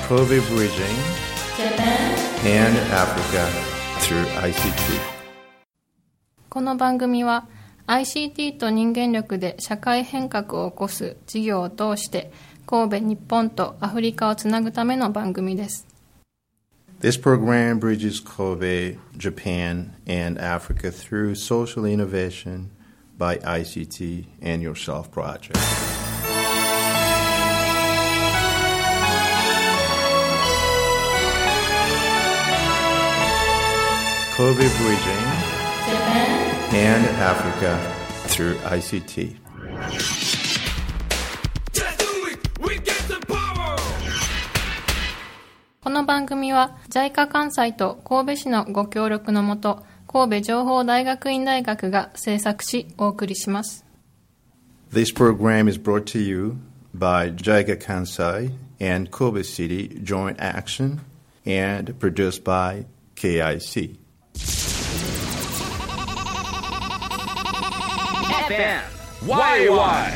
Kobe Bridging Japan and Africa through ICT。 この番組は ICT と人間力で社会変革を起こす事業を通して神戸、日本とアフリカをつなぐための番組です。 This program bridges Kobe, Japan, and Africa through social innovation by ICT and Yourself Project. Kobe Bridging Japan and Africa through ICT。 この番組は JICA 関西と神戸市のご協力のもと神戸情報大学院大学が制作しお送りします。 This program is brought to you by JICA Kansai and Kobe City Joint Action and produced by KIC。 FM YY。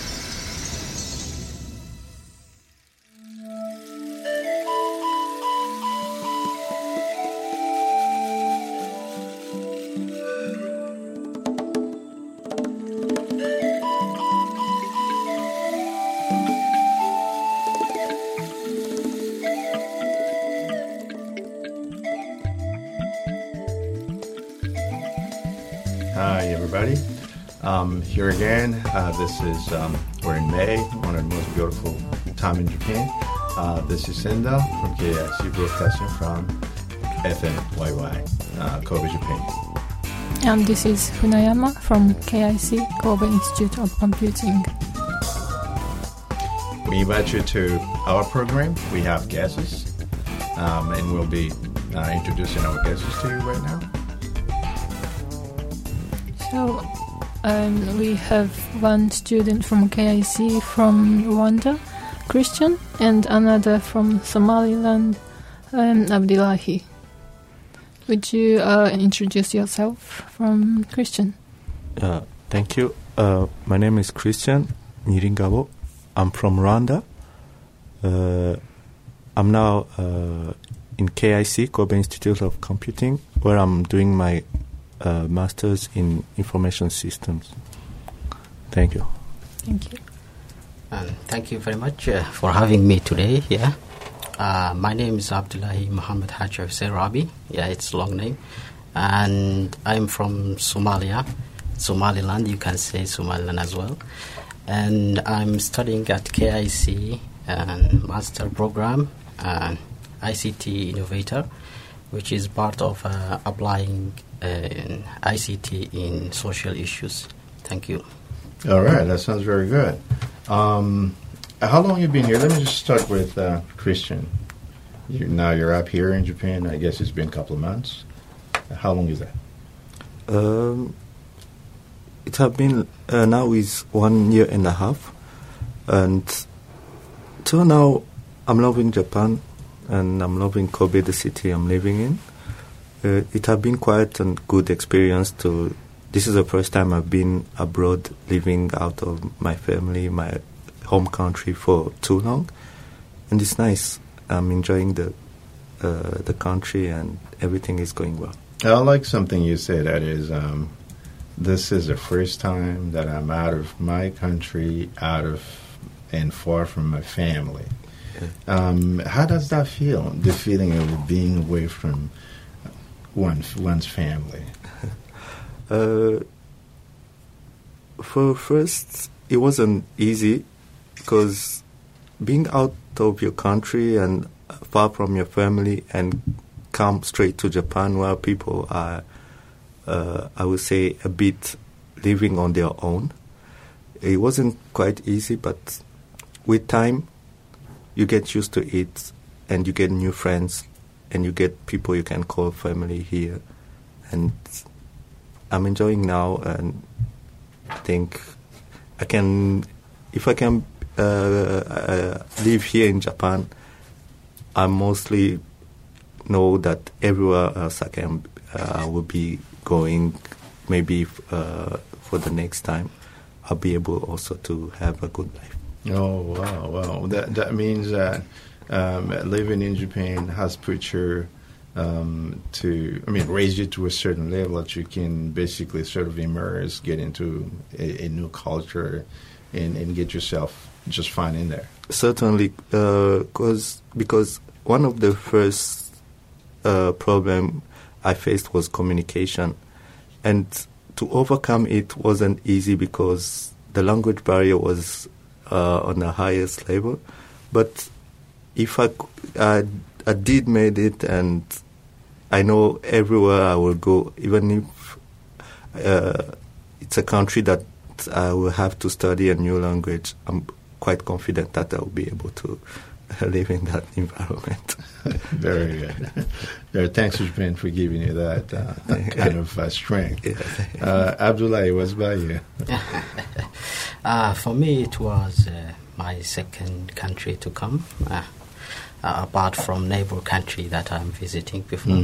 Hi, everybody. Here again. This is, we're in May, one of the most beautiful time in Japan. This is Senda from KIC, broadcasting from FMYY, Kobe, Japan. And this is Funayama from KIC, Kobe Institute of Computing. We invite you to our program. We have guests, and we'll be introducing our guests to you right now. So we have one student from KIC from Rwanda, Christian, and another from Somaliland, Abdullahi. Would you introduce yourself from Christian? Thank you. My name is Christian Niringabo. I'm from Rwanda. I'm now in KIC, Kobe Institute of Computing, where I'm doing my Master's in Information Systems. Thank you. Thank you. Thank you very much for having me today here. My name is Abdullahi Muhammad Hajar Serabi. Yeah, it's a long name. And I'm from Somalia, Somaliland. You can say Somaliland as well. And I'm studying at KIC Master Program, ICT Innovator, which is part of applying ICT in social issues. Thank you. All right, that sounds very good. How long have you been here? Let me just start with Christian. Now you're up here in Japan. I guess it's been a couple of months. How long is that? It has been now is 1 year and a half, and till now I'm loving Japan and I'm loving Kobe, the city I'm living in. It has been quite a good experience to. This is the first time I've been abroad, living out of my family, my home country for too long, and it's nice. I'm enjoying the country and everything is going well. I like something you said. That is, this is the first time that I'm out of my country, and far from my family. How does that feel? The feeling of being away from one's family. For first, it wasn't easy because being out of your country and far from your family and come straight to Japan where people are, I would say, a bit living on their own. It wasn't quite easy, but with time, you get used to it and you get new friends and you get people you can call family here. And I'm enjoying now, and I think I can, if I can live here in Japan, I mostly know that everywhere else I will be going, maybe for the next time, I'll be able also to have a good life. Oh, wow. That means that living in Japan has put you raised you to a certain level that you can basically sort of immerse, get into a new culture, and get yourself just fine in there? Certainly, because one of the first problem I faced was communication, and to overcome it wasn't easy because the language barrier was on the highest level. But if I did made it, and I know everywhere I will go, even if it's a country that I will have to study a new language, I'm quite confident that I will be able to live in that environment. Very good. Thanks, Japan, for giving you that kind of strength. Abdullahi, what's about you? For me, it was my second country to come, apart from neighbor country that I'm visiting before.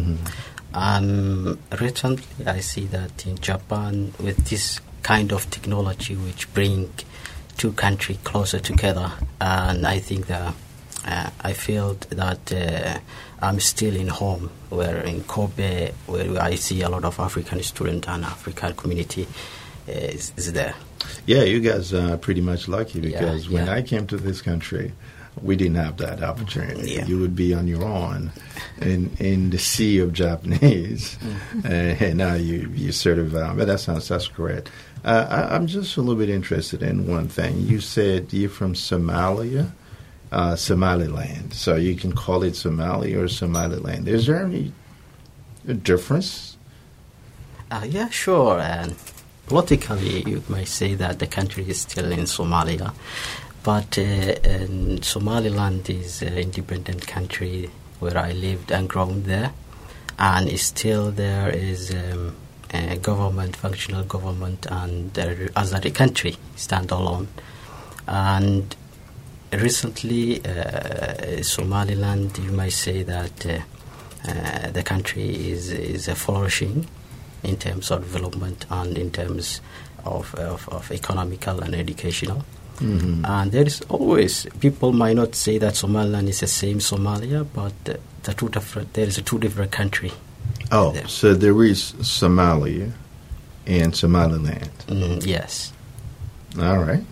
Recently, I see that in Japan, with this kind of technology which bring two countries closer together, and I think that I feel that I'm still in home, where in Kobe, where I see a lot of African students and African community is there. Yeah, you guys are pretty much lucky, because when I came to this country, we didn't have that opportunity. Yeah. You would be on your own in the sea of Japanese, and now you sort of. But that's great. I'm just a little bit interested in one thing. You said you're from Somalia, Somaliland. So you can call it Somalia or Somaliland. Is there any difference? Yeah, sure. And politically, you might say that the country is still in Somalia, but Somaliland is an independent country where I lived and grown there, and still there is a government, functional government, and as a country stand alone. And recently, Somaliland, you might say that the country is flourishing in terms of development and in terms of economical and educational. And there is always, people might not say that Somaliland is the same Somalia, but there is a two different country. Oh, there. So there is Somalia and Somaliland. Yes. All right.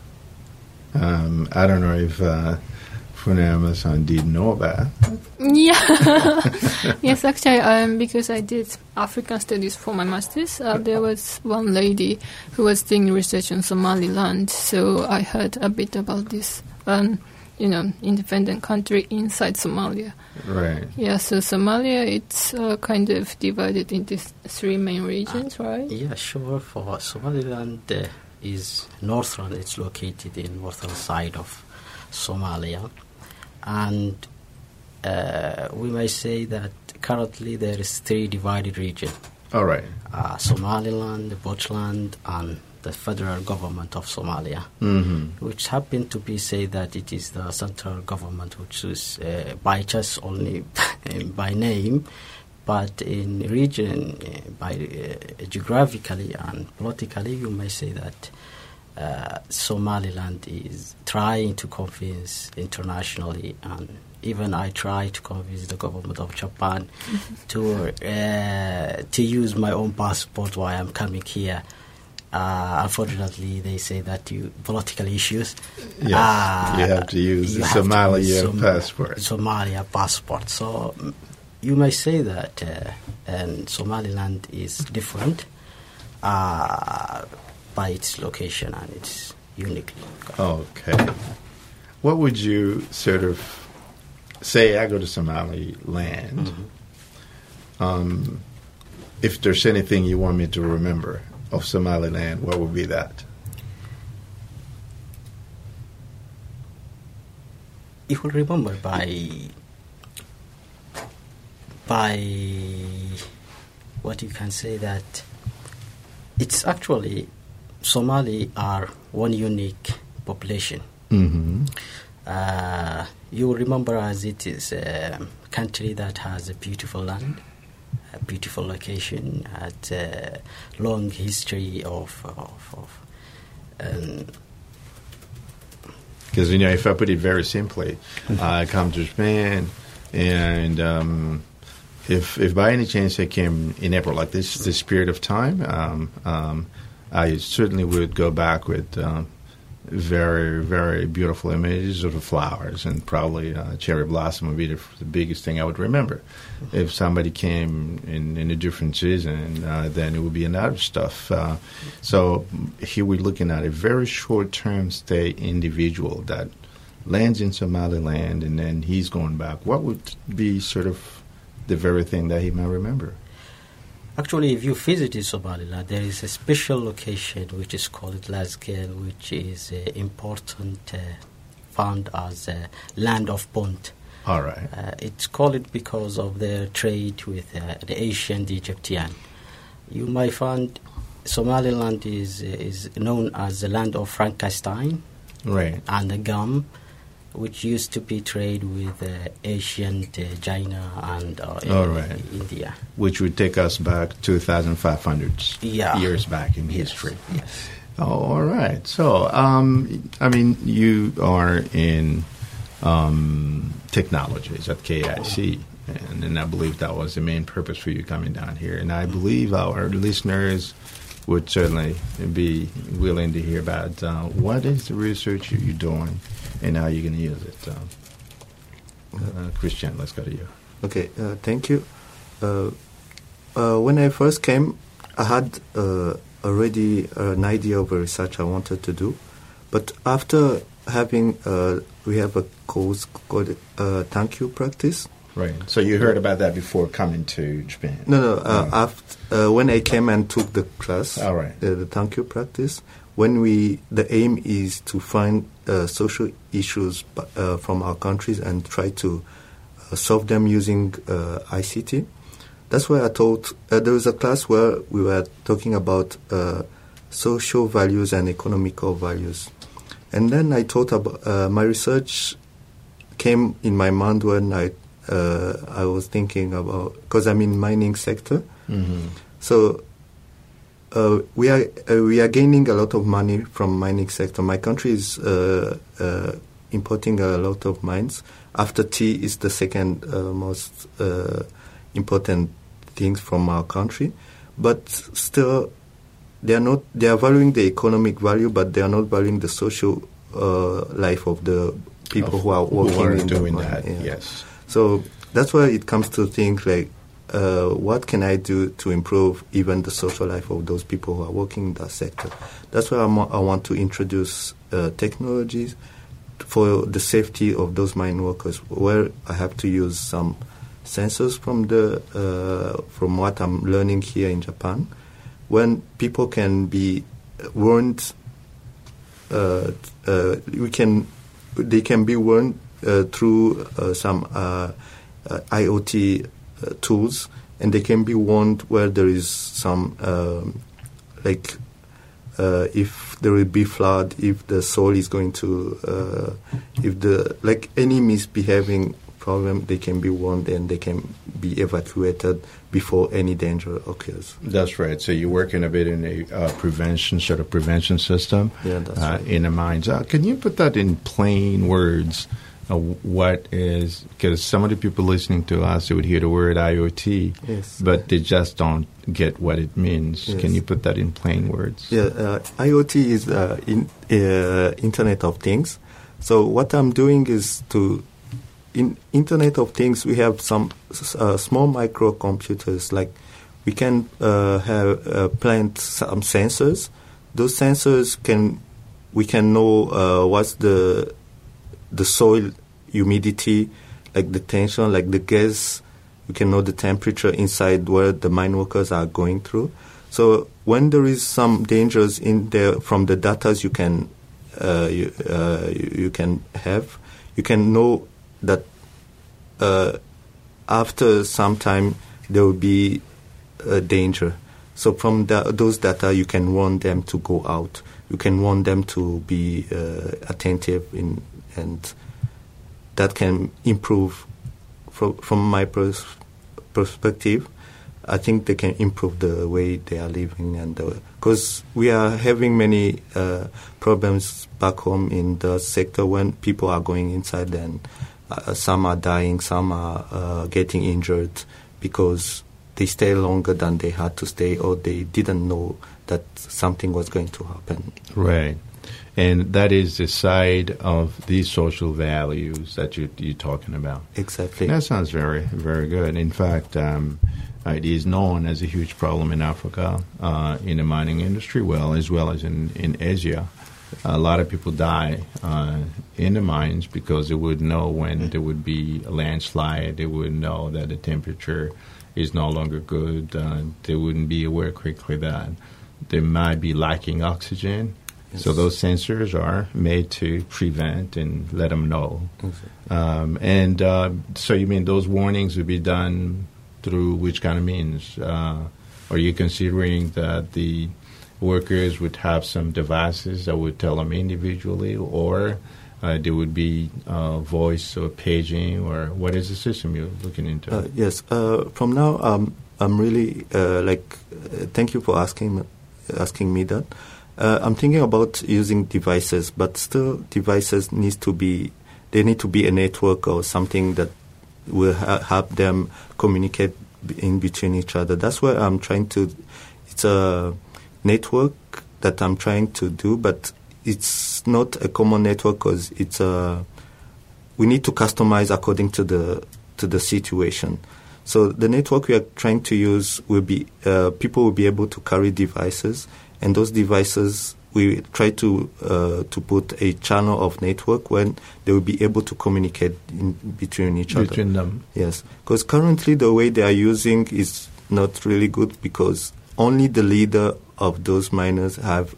I don't know if Funayama-san did know about. Yeah. Yes, actually, because I did African studies for my master's, there was one lady who was doing research on Somaliland, so I heard a bit about this, independent country inside Somalia. Right. Yeah, so Somalia, it's kind of divided into three main regions, right? Yeah, sure. For Somaliland is northern. It's located in northern side of Somalia, and we may say that currently there is three divided regions. All right. Somaliland, Puntland, and the federal government of Somalia, which happen to be say that it is the central government, which is by just only by name, but in region, geographically and politically, you may say that Somaliland is trying to convince internationally, and even I try to convince the government of Japan to use my own passport while I'm coming here. Unfortunately, they say that political issues. Yes, you have to use the Somalia passport. Somalia passport. So you may say that and Somaliland is different by its location, and it's uniquely. Okay. What would you sort of say? I go to Somaliland. If there's anything you want me to remember of Somaliland, what would be that? You will remember by what you can say that it's actually Somali are one unique population. You will remember as it is a country that has a beautiful land, a beautiful location, at a long history of Can Because, if I put it very simply, I come to Japan, and if by any chance I came in April, like this period of time, I certainly would go back with very, very beautiful images of the flowers, and probably cherry blossom would be the biggest thing I would remember. If somebody came in a different season, then it would be another stuff. So here we're looking at a very short-term stay individual that lands in Somaliland, and then he's going back. What would be sort of the very thing that he might remember? Actually, if you visited Somaliland, there is a special location which is called Lasgel, which is important, found as a land of Punt. All right. It's called because of their trade with the ancient Egyptian. You might find Somaliland is known as the land of Frankenstein, right, and the gum, which used to be trade with ancient China and India. Which would take us back 2,500 years back in history. Yes. Oh, all right. So, you are in technologies at KIC, and I believe that was the main purpose for you coming down here. And I believe our listeners would certainly be willing to hear about what is the research you're doing and how you're going to use it. Christian, let's go to you. Okay, thank you. When I first came, I had already an idea of a research I wanted to do. But after having, we have a course called Thank You Practice. Right. So you heard about that before coming to Japan? No. After when I came and took the class, all right. The Thank You Practice, the aim is to find social issues from our countries and try to solve them using ICT. That's why I thought there was a class where we were talking about social values and economical values. And then I thought about my research came in my mind when I was thinking about, because I'm in mining sector. Mm-hmm. So we are gaining a lot of money from mining sector. My country is importing a lot of mines. After tea is the second most important things from our country, but still they are valuing the economic value, but they are not valuing the social life of the people who are working doing that. Yeah. Yes. So that's why it comes to things like, what can I do to improve even the social life of those people who are working in that sector? That's why I want to introduce technologies for the safety of those mine workers, where I have to use some sensors from what I'm learning here in Japan, when people can be warned. They can be warned through some IoT tools, and they can be warned where there is some if there will be flood, if the soil is going to any misbehaving problem, they can be warned and they can be evacuated before any danger occurs. That's right. So you're working a bit in a prevention system. Yeah, that's right. In the mines. Can you put that in plain words? What is, because some of the people listening to us, they would hear the word IoT, yes, but they just don't get what it means. Yes. Can you put that in plain words? Yeah, IoT is Internet of Things. So what I'm doing is in Internet of Things, we have some small microcomputers. Like we can plant some sensors. Those sensors we can know what's the soil humidity, like the tension, like the gas. We can know the temperature inside where the mine workers are going through. So when there is some dangers in there from the data you can have, you can know that after some time there will be a danger. So from those data you can warn them to go out. You can warn them to be attentive and that can improve, from my perspective, I think they can improve the way they are living and the because we are having many problems back home in the sector when people are going inside and some are dying, some are getting injured because they stay longer than they had to stay, or they didn't know that something was going to happen. Right. And that is the side of these social values that you're talking about. Exactly. That sounds very, very good. In fact, it is known as a huge problem in Africa, in the mining industry, as well as in Asia. A lot of people die in the mines because they would know when there would be a landslide. They would know that the temperature is no longer good. They wouldn't be aware quickly that they might be lacking oxygen. Yes. So those sensors are made to prevent and let them know. Okay. So you mean those warnings would be done through which kind of means? Are you considering that the workers would have some devices that would tell them individually, or there would be voice or paging, or what is the system you're looking into? Yes. From now, I'm really thank you for asking me that. I'm thinking about using devices, but still devices need to be a network or something that will help them communicate in between each other. That's why I'm trying to. It's a network that I'm trying to do, but it's not a common network because we need to customize according to the situation. So the network we are trying to use will be people will be able to carry devices, and those devices we try to put a channel of network when they will be able to communicate between each other. Between them. Yes, because currently the way they are using is not really good because only the leader of those miners have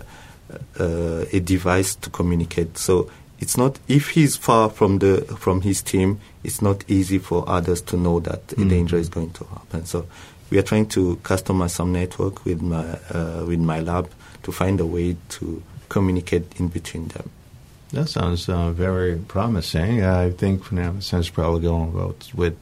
a device to communicate. So it's not, if he's far from his team, it's not easy for others to know that a danger is going to happen. So we are trying to customize some network with my lab to find a way to communicate in between them. That sounds very promising. I think for now, since probably going with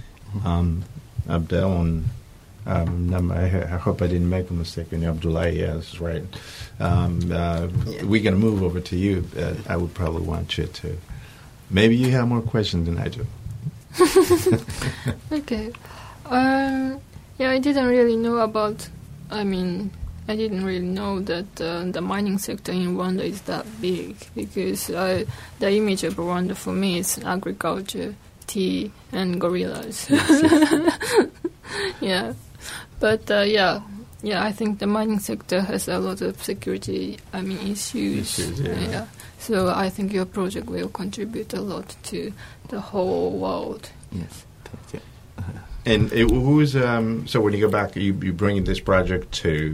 Abdel and I hope I didn't make a mistake in Abdullah. Yeah, that's right. We're going to move over to you. I would probably want you to. Maybe you have more questions than I do. Okay. I didn't really know I didn't really know that the mining sector in Rwanda is that big, because the image of Rwanda for me is agriculture, tea, and gorillas. Yes. Yeah. But I think the mining sector has a lot of security issues. Yeah. So I think your project will contribute a lot to the whole world. Yes. Thank you. And who's so when you go back, you bringing this project to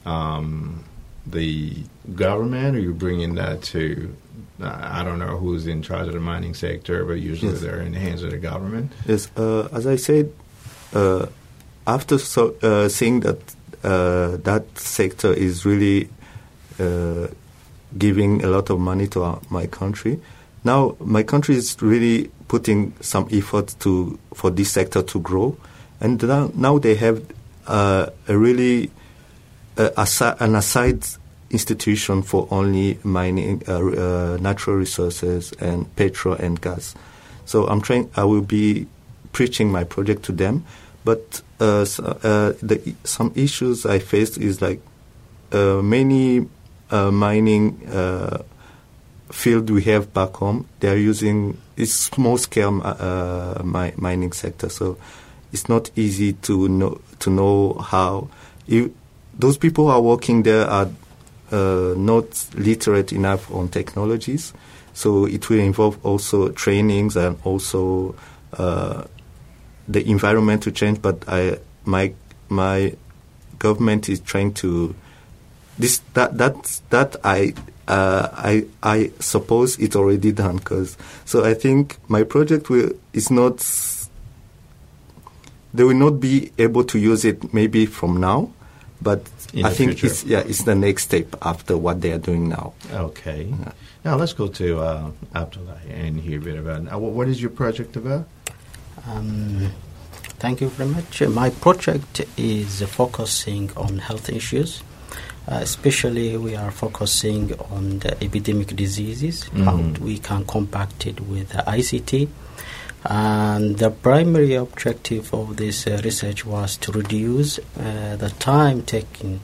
the government, or you bringing that to I don't know who's in charge of the mining sector, but usually they're in the hands of the government. Yes. As I said, after seeing that that sector is really giving a lot of money to my country, now my country is really putting some effort for this sector to grow, and now they have a really an aside institution for only mining natural resources and petrol and gas. So I will be preaching my project to them. But some issues I faced is like many mining field we have back home, they are using small scale mining sector. So it's not easy to know how those people who are working there are not literate enough on technologies. So it will involve also trainings and also the environment to change, but my government is trying to I suppose it's already done, so I think my project they will not be able to use it maybe from now, but I think future. It's the next step after what they are doing now. Okay. Yeah. Now let's go to Abdullah and hear a bit about what is your project about? Thank you very much. My project is focusing on health issues, Especially we are focusing on the epidemic diseases, how we can compact it with ICT. And the primary objective of this research was to reduce the time taken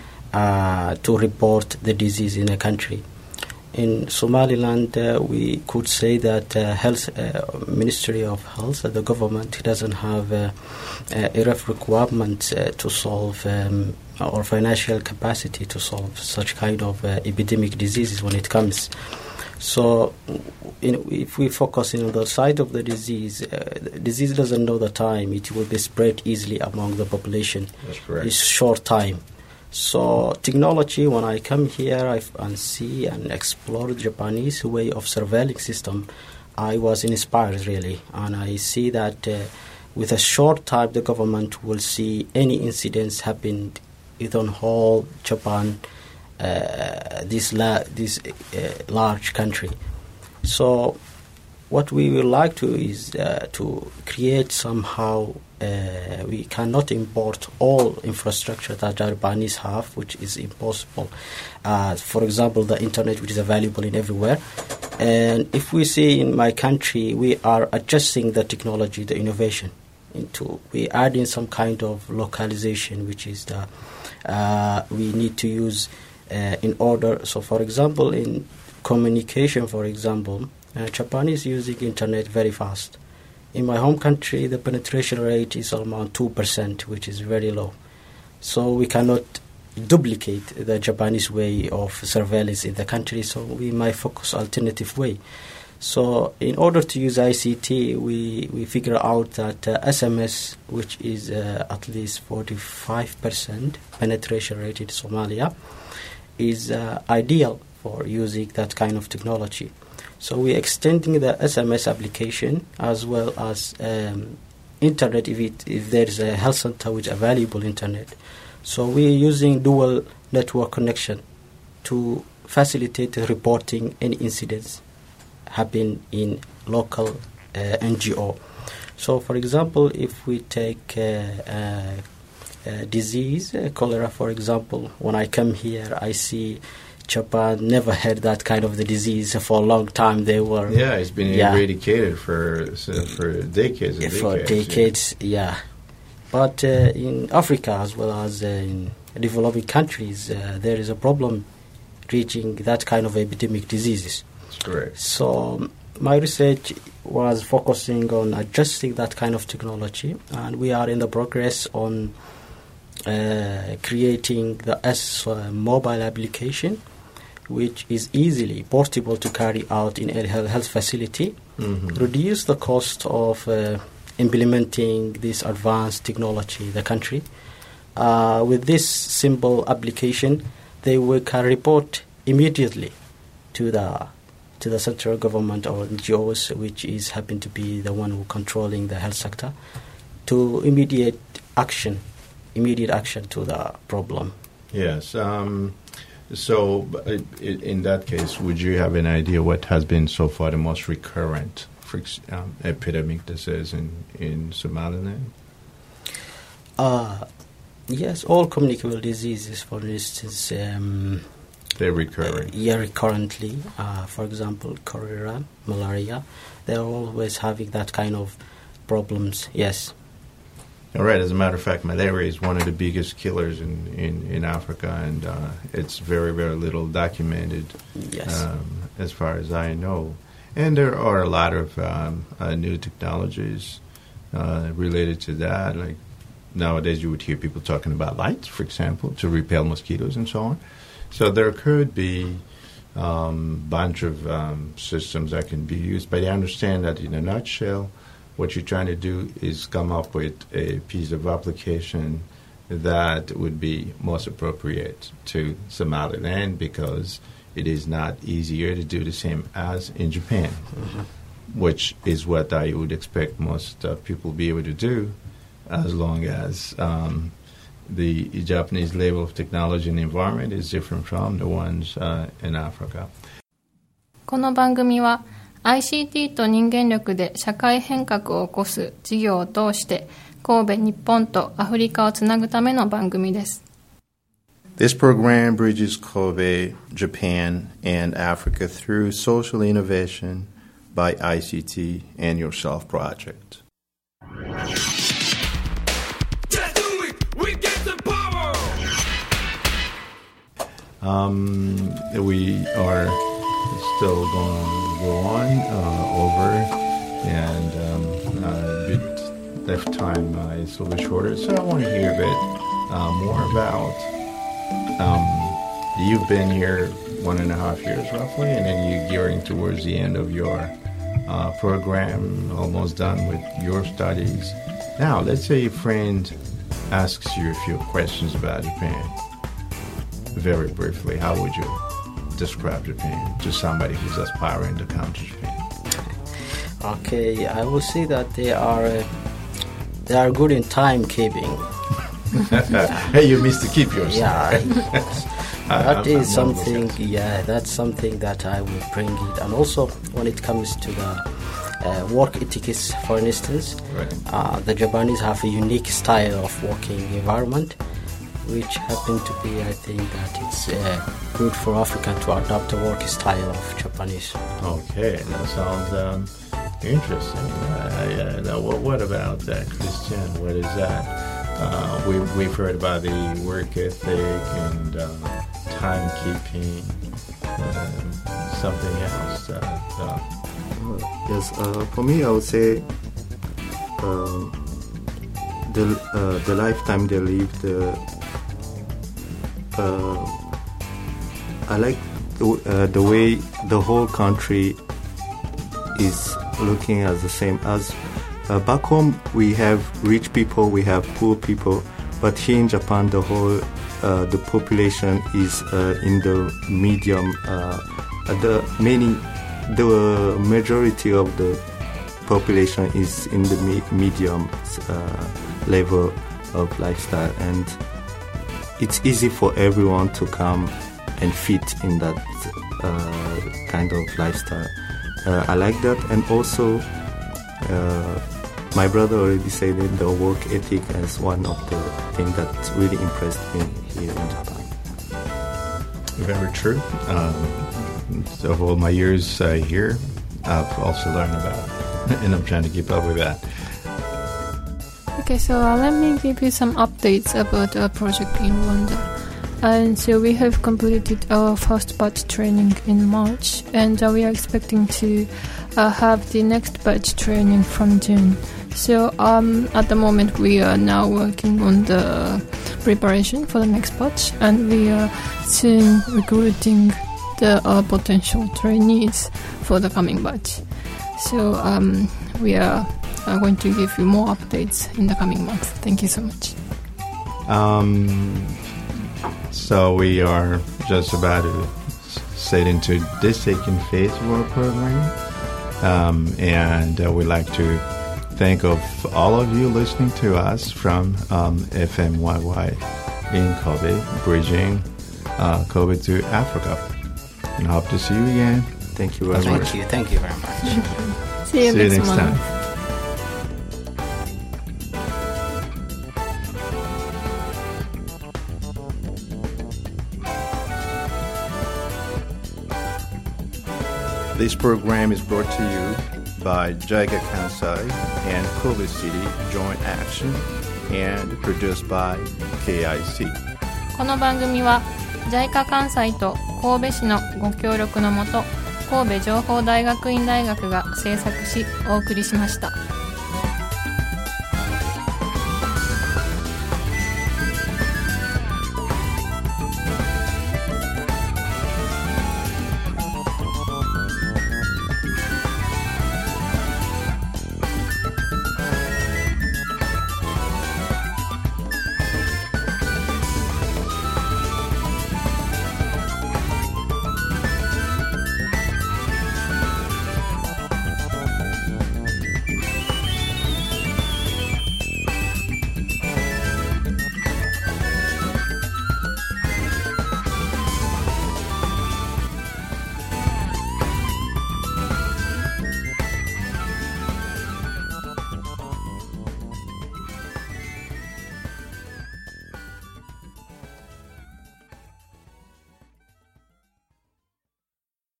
to report the disease in a country. In Somaliland, we could say that Ministry of Health, the government doesn't have enough requirements to solve or financial capacity to solve such kind of epidemic diseases when it comes. So, if we focus on the side of the disease doesn't know the time. It will be spread easily among the population. That's correct. It's short time. So, technology, when I come here and see and explore the Japanese way of surveilling system, I was inspired really. And I see that with a short time, the government will see any incidents happen within whole Japan, this large country. So what we would like to is to create somehow, we cannot import all infrastructure that Japanese have, which is impossible. For example, the internet, which is available in everywhere. And if we see in my country, we are adjusting the technology, the innovation, we add in some kind of localization, which is we need to use in order. So, for example, in communication, for example, Japan is using internet very fast. In my home country, the penetration rate is around 2%, which is very low. So we cannot duplicate the Japanese way of surveillance in the country, so we might focus alternative way. So in order to use ICT, we figure out that SMS, which is at least 45% penetration rate in Somalia, is ideal for using that kind of technology. So we're extending the SMS application as well as internet if there is a health center with available internet. So we're using dual network connection to facilitate reporting any incidents happen in local NGO. So for example, if we take disease, cholera for example, when I come here I see Japan never had that kind of the disease for a long time. They were it's been eradicated for decades and for decades. Yeah. But in Africa as well as in developing countries, there is a problem reaching that kind of epidemic diseases. That's correct. So my research was focusing on adjusting that kind of technology, and we are in the progress on creating the mobile application, which is easily portable to carry out in a health facility, reduce the cost of implementing this advanced technology in the country. With this simple application, they can report immediately to the central government or NGOs, which is happen to be the one who controlling the health sector, to immediate action to the problem. Yes. So in that case, would you have an idea what has been so far the most recurrent epidemic disease in Somaliland? Yes, all communicable diseases, for instance. They're recurring. Recurrently. For example, cholera, malaria. They're always having that kind of problems, yes. All right. As a matter of fact, malaria is one of the biggest killers in Africa, and it's very, very little documented, as far as I know. And there are a lot of new technologies related to that. Like nowadays, you would hear people talking about lights, for example, to repel mosquitoes and so on. So there could be a bunch of systems that can be used. But I understand that in a nutshell, what you're trying to do is come up with a piece of application that would be most appropriate to Somaliland, because it is not easier to do the same as in Japan, which is what I would expect most people be able to do, as long as the Japanese level of technology and environment is different from the ones in Africa. この番組はICT と人間力で社会変革を起こす事業を通して神戸、日本とアフリカをつなぐための番組です。 This program bridges Kobe, Japan, and Africa through social innovation by ICT and Yourself Project. We are still going to go on over, and the time is a little bit shorter, so I want to hear a bit more about. You've been here 1.5 years roughly, and then you're gearing towards the end of your program, almost done with your studies. Now, let's say a friend asks you a few questions about Japan. Very briefly, how would you describe Japan to somebody who's aspiring to come to Japan? Okay, I will say that they are good in timekeeping. Hey, you missed to keep yours. Yeah, that is something. Yeah, that's something that I will bring it. And also, when it comes to the work ethics, for instance, right. The Japanese have a unique style of working environment, which happen to be, I think, that it's good for Africa to adopt the work style of Japanese. Okay, that sounds interesting. What about that, Christian? What is that? We've heard about the work ethic and timekeeping. Something else. Yes, for me, I would say the lifetime they live. I like the way the whole country is looking as the same as back home. We have rich people, we have poor people, but here in Japan, the whole the population is in the medium. The majority of the population is in the medium level of lifestyle, and it's easy for everyone to come and fit in that kind of lifestyle. I like that, and also my brother already said it, the work ethic as one of the things that really impressed me here in Japan. Very true. So all my years here, I've also learned about it, and I'm trying to keep up with that. Okay, so let me give you some updates about our project in Rwanda. And so we have completed our first batch training in March, and we are expecting to have the next batch training from June. So at the moment we are now working on the preparation for the next batch, and we are soon recruiting the potential trainees for the coming batch. So we are going to give you more updates in the coming months. Thank you so much. So we are just about to set into this second phase of our program, and we'd like to thank of all of you listening to us from FMYY in Kobe, bridging Kobe to Africa, and hope to see you again. Thank you very much. Thank you very much. See you next time. This program is brought to you by JICA Kansai and Kobe City Joint Action and produced by KIC. この番組は JICA 関西と神戸市のご協力のもと神戸情報大学院大学が制作しお送りしました。